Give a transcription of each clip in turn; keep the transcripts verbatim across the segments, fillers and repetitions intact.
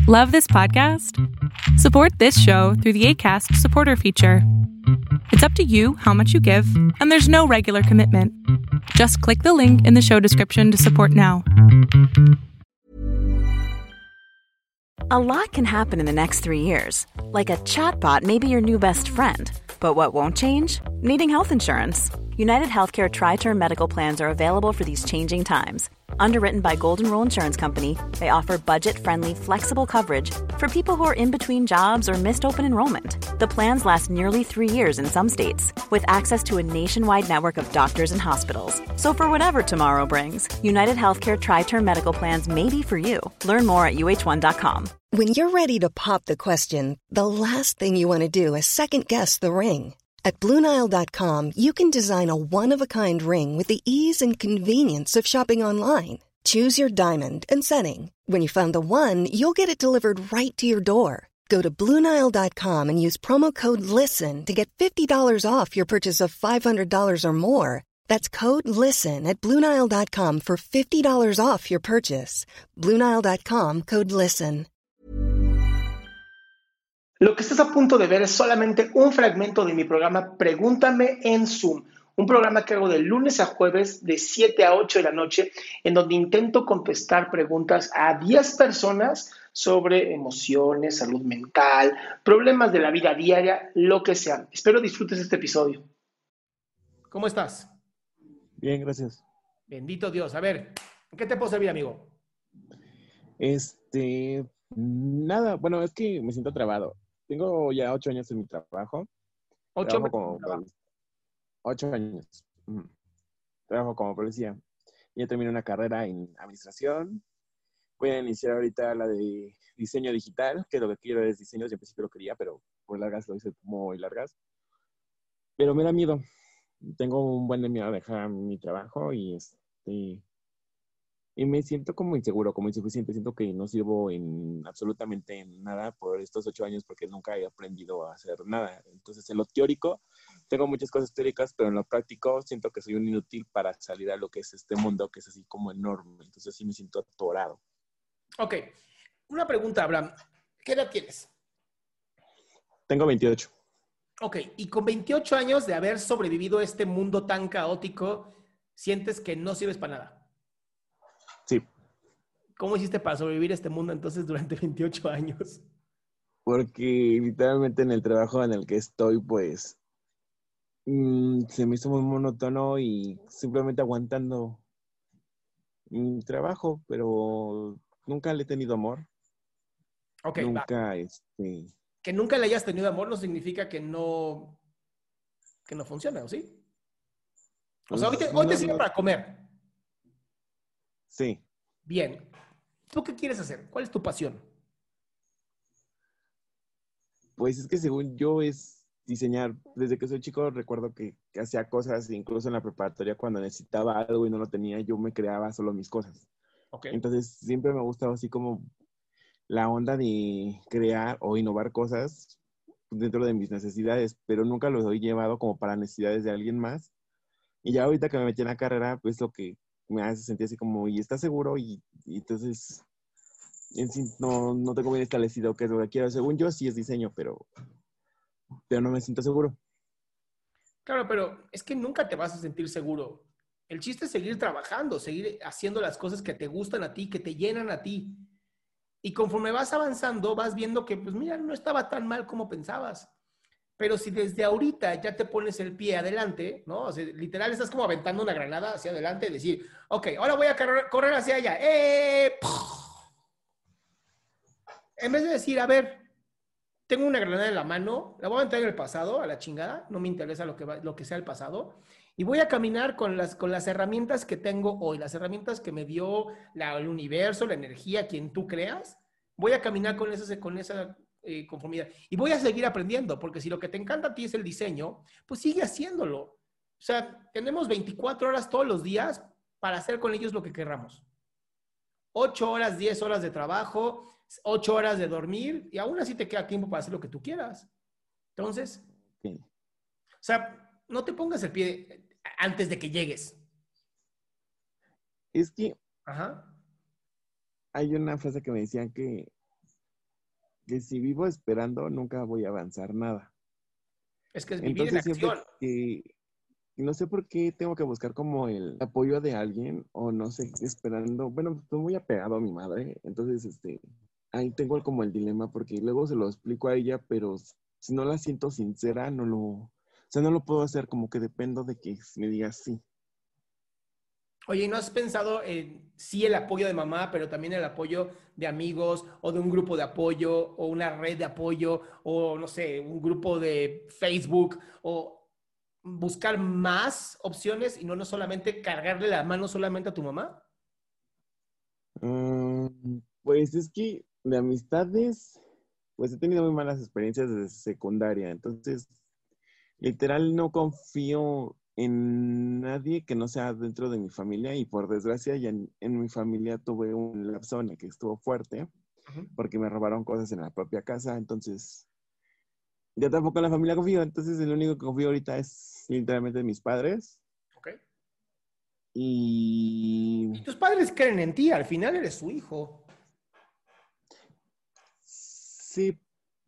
Love this podcast? Support this show through the Acast supporter feature. It's up to you how much you give, and there's no regular commitment. Just click the link in the show description to support now. A lot can happen in the next three years. Like a chatbot may be your new best friend. But what won't change? Needing health insurance. United Healthcare Tri-Term Medical Plans are available for these changing times. Underwritten by Golden Rule Insurance Company, they offer budget-friendly, flexible coverage for people who are in between jobs or missed open enrollment. The plans last nearly three years in some states, with access to a nationwide network of doctors and hospitals. So for whatever tomorrow brings, United Healthcare Tri-Term Medical Plans may be for you. Learn more at U H one dot com. When you're ready to pop the question, the last thing you want to do is second-guess the ring. At Blue Nile dot com, you can design a one-of-a-kind ring with the ease and convenience of shopping online. Choose your diamond and setting. When you find the one, you'll get it delivered right to your door. Go to Blue Nile dot com and use promo code LISTEN to get fifty dollars off your purchase of five hundred dollars or more. That's code LISTEN at Blue Nile dot com for fifty dollars off your purchase. Blue Nile dot com, code LISTEN. Lo que estás a punto de ver es solamente un fragmento de mi programa Pregúntame en Zoom, un programa que hago de lunes a jueves de siete a ocho de la noche, en donde intento contestar preguntas a diez personas sobre emociones, salud mental, problemas de la vida diaria, lo que sea. Espero disfrutes este episodio. ¿Cómo estás? Bien, gracias. Bendito Dios. A ver, ¿en qué te puedo servir, amigo? Este, nada, bueno, es que me siento trabado. Tengo ya ocho años en mi trabajo. Ocho Trabajo como pol- ocho años. Mm. Trabajo como policía. Ya terminé una carrera en administración. Voy a iniciar ahorita la de diseño digital, que lo que quiero es diseño. Siempre sí lo quería, pero por largas lo hice muy largas. Pero me da miedo. Tengo un buen de miedo a dejar mi trabajo y este... Y me siento como inseguro, como insuficiente. Siento que no sirvo en absolutamente en nada por estos ocho años porque nunca he aprendido a hacer nada. Entonces, en lo teórico, tengo muchas cosas teóricas, pero en lo práctico siento que soy un inútil para salir a lo que es este mundo, que es así como enorme. Entonces, sí me siento atorado. Ok. Una pregunta, Abraham. ¿Qué edad tienes? Tengo veintiocho. Ok. Y con veintiocho años de haber sobrevivido a este mundo tan caótico, ¿sientes que no sirves para nada? Sí. ¿Cómo hiciste para sobrevivir a este mundo entonces durante veintiocho años? Porque literalmente en el trabajo en el que estoy, pues, mmm, se me hizo muy monótono y simplemente aguantando mi trabajo, pero nunca le he tenido amor. Ok, Nunca, va. este... Que nunca le hayas tenido amor no significa que no, que no funcione, ¿o sí? O sea, hoy te, pues, hoy te no, sirve no. para comer. Sí. Bien. ¿Tú qué quieres hacer? ¿Cuál es tu pasión? Pues es que según yo es diseñar. Desde que soy chico recuerdo que, que hacía cosas, incluso en la preparatoria cuando necesitaba algo y no lo tenía, yo me creaba solo mis cosas. Ok. Entonces siempre me ha gustado así como la onda de crear o innovar cosas dentro de mis necesidades, pero nunca los he llevado como para necesidades de alguien más. Y ya ahorita que me metí en la carrera, pues lo que me hace sentir así como, ¿y estás seguro? Y, y entonces en sí no, no tengo bien establecido qué es lo que quiero. Según yo sí es diseño, pero, pero no me siento seguro. Claro, pero es que nunca te vas a sentir seguro. El chiste es seguir trabajando, seguir haciendo las cosas que te gustan a ti, que te llenan a ti. Y conforme vas avanzando, vas viendo que, pues mira, no estaba tan mal como pensabas. Pero si desde ahorita ya te pones el pie adelante, ¿no? O sea, literal estás como aventando una granada hacia adelante y decir, ok, ahora voy a correr, correr hacia allá. ¡Eh! En vez de decir, a ver, tengo una granada en la mano, la voy a aventar en el pasado, a la chingada, no me interesa lo que, va, lo que sea el pasado, y voy a caminar con las, con las herramientas que tengo hoy, las herramientas que me dio la, el universo, la energía, quien tú creas, voy a caminar con esa, con esa eh, conformidad. Y voy a seguir aprendiendo, porque si lo que te encanta a ti es el diseño, pues sigue haciéndolo. O sea, tenemos veinticuatro horas todos los días para hacer con ellos lo que querramos. ocho horas, diez horas de trabajo, ocho horas de dormir, y aún así te queda tiempo para hacer lo que tú quieras. Entonces, Sí. o sea, no te pongas el pie antes de que llegues. Es que Ajá. hay una frase que me decían que que si vivo esperando, nunca voy a avanzar nada. Es que es vivir Entonces, en acción. siempre que, no sé por qué tengo que buscar como el apoyo de alguien, o no sé, esperando, bueno, estoy muy apegado a mi madre, entonces, este, ahí tengo como el dilema, porque luego se lo explico a ella, pero si no la siento sincera, no lo, o sea, no lo puedo hacer, como que dependo de que me diga sí. Oye, ¿no has pensado en sí el apoyo de mamá, pero también el apoyo de amigos o de un grupo de apoyo o una red de apoyo o, no sé, un grupo de Facebook o buscar más opciones y no, no solamente cargarle la mano solamente a tu mamá? Mm, pues es que de amistades, pues he tenido muy malas experiencias desde secundaria, entonces literal no confío en nadie que no sea dentro de mi familia, y por desgracia ya en, en mi familia tuve un lapso en el que estuvo fuerte Uh-huh. porque me robaron cosas en la propia casa, entonces ya tampoco en la familia confío, entonces el único que confío ahorita es literalmente mis padres. Ok. Y Y tus padres creen en ti, al final eres su hijo. sí,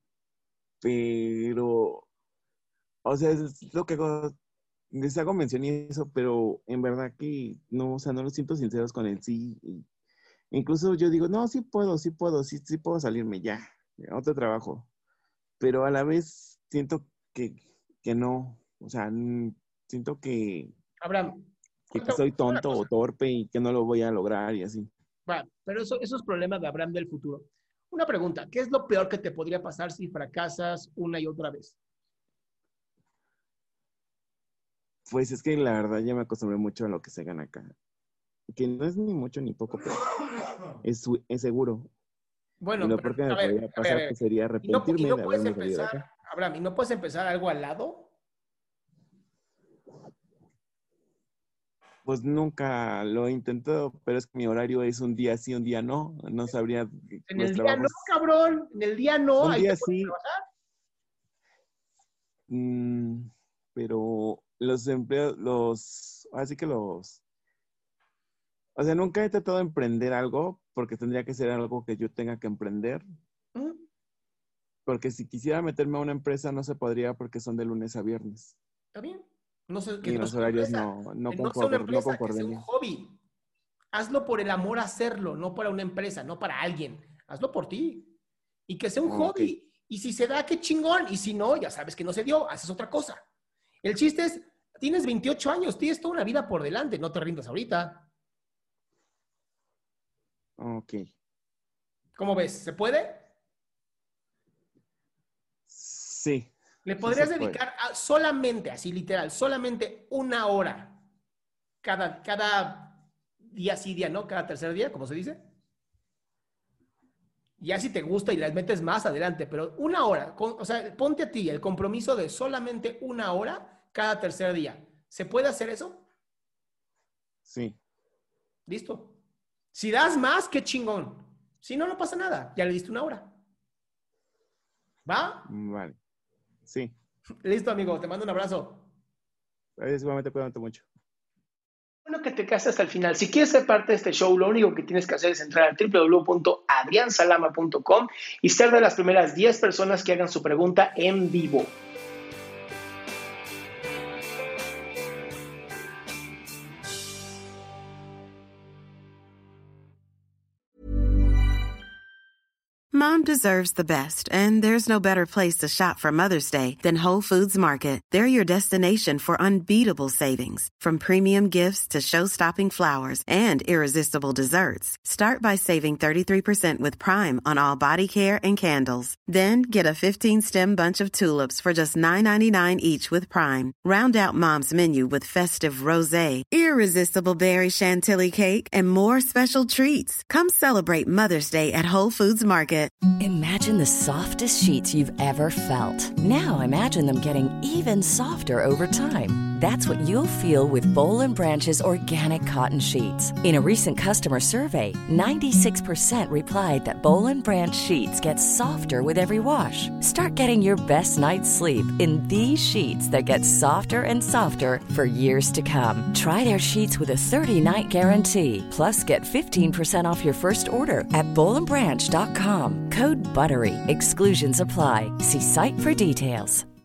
pero o sea, es lo que hago, les hago mención y eso, pero en verdad que no, o sea, no los siento sinceros con el sí. Y incluso yo digo, no, sí puedo, sí puedo, sí, sí puedo salirme ya, a otro trabajo. Pero a la vez siento que, que no, o sea, n- siento que, Abraham, que cuenta- soy una tonto o cosa. torpe y que no lo voy a lograr y así. Va, pero eso, eso es problema de Abraham del futuro. Una pregunta, ¿qué es lo peor que te podría pasar si fracasas una y otra vez? Pues es que la verdad ya me acostumbré mucho a lo que se gana acá. Que no es ni mucho ni poco, pero es, su- es seguro. Y Bueno, lo pero, peor que a me ver, podría a ver, a pasar ver. pues, sería ¿Y no, y arrepentirme no de puedes haberme salido de empezar, acá. Abraham, y no puedes empezar algo al lado? Pues nunca lo he intentado, pero es que mi horario es un día sí, un día no. No sabría, En los el día no, trabajos, cabrón, en el día no, un ahí te día puedes sí, trabajar. mm, pero los empleos, los, así que los, o sea, nunca he tratado de emprender algo porque tendría que ser algo que yo tenga que emprender. ¿Mm? Porque si quisiera meterme a una empresa no se podría porque son de lunes a viernes. ¿Está bien? No sé, que Y no los sea una horarios empresa, no, no, que no sea una concordar, no empresa, que sea un concordarían. hobby. Hazlo por el amor a hacerlo, no para una empresa, no para alguien. Hazlo por ti. Y que sea un Ok. hobby. Y si se da, qué chingón. Y si no, ya sabes que no se dio, haces otra cosa. El chiste es, tienes veintiocho años, tienes toda una vida por delante, no te rindas ahorita. Ok. ¿Cómo ves? ¿Se puede? Sí. Le Sí se podrías puede. dedicar a solamente, así literal, solamente una hora cada, cada día sí, día no, cada tercer día, como se dice. Ya si te gusta y las metes más adelante, pero una hora, con, o sea, ponte a ti el compromiso de solamente una hora cada tercer día. ¿Se puede hacer eso? Sí. Listo. Si das más, qué chingón. Si no, no pasa nada. Ya le diste una hora. ¿Va? Vale. Sí. Listo, amigo. Te mando un abrazo. Es igualmente, cuídate mucho. Bueno que te quedaste hasta el final. Si quieres ser parte de este show, lo único que tienes que hacer es entrar a doble u doble u doble u punto adrian salama punto com y ser de las primeras diez personas que hagan su pregunta en vivo. Mom deserves the best, and there's no better place to shop for Mother's Day than Whole Foods Market. They're your destination for unbeatable savings, from premium gifts to show-stopping flowers and irresistible desserts. Start by saving thirty-three percent with Prime on all body care and candles. Then get a fifteen-stem bunch of tulips for just nine ninety-nine each with Prime. Round out Mom's menu with festive rosé, irresistible berry chantilly cake, and more special treats. Come celebrate Mother's Day at Whole Foods Market. Imagine the softest sheets you've ever felt. Now imagine them getting even softer over time. That's what you'll feel with Bowl and Branch's organic cotton sheets. In a recent customer survey, ninety-six percent replied that Bowl and Branch sheets get softer with every wash. Start getting your best night's sleep in these sheets that get softer and softer for years to come. Try their sheets with a thirty-night guarantee. Plus, get fifteen percent off your first order at bowl and branch dot com. Code BUTTERY. Exclusions apply. See site for details.